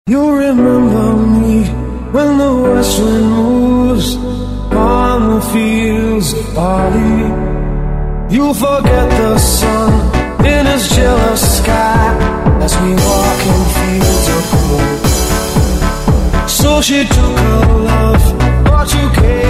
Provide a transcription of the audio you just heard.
You remember me when the west wind moves on the fields of barley. You'll forget the sun in his jealous sky as we walk in fields of gold. So she took her love, but you gave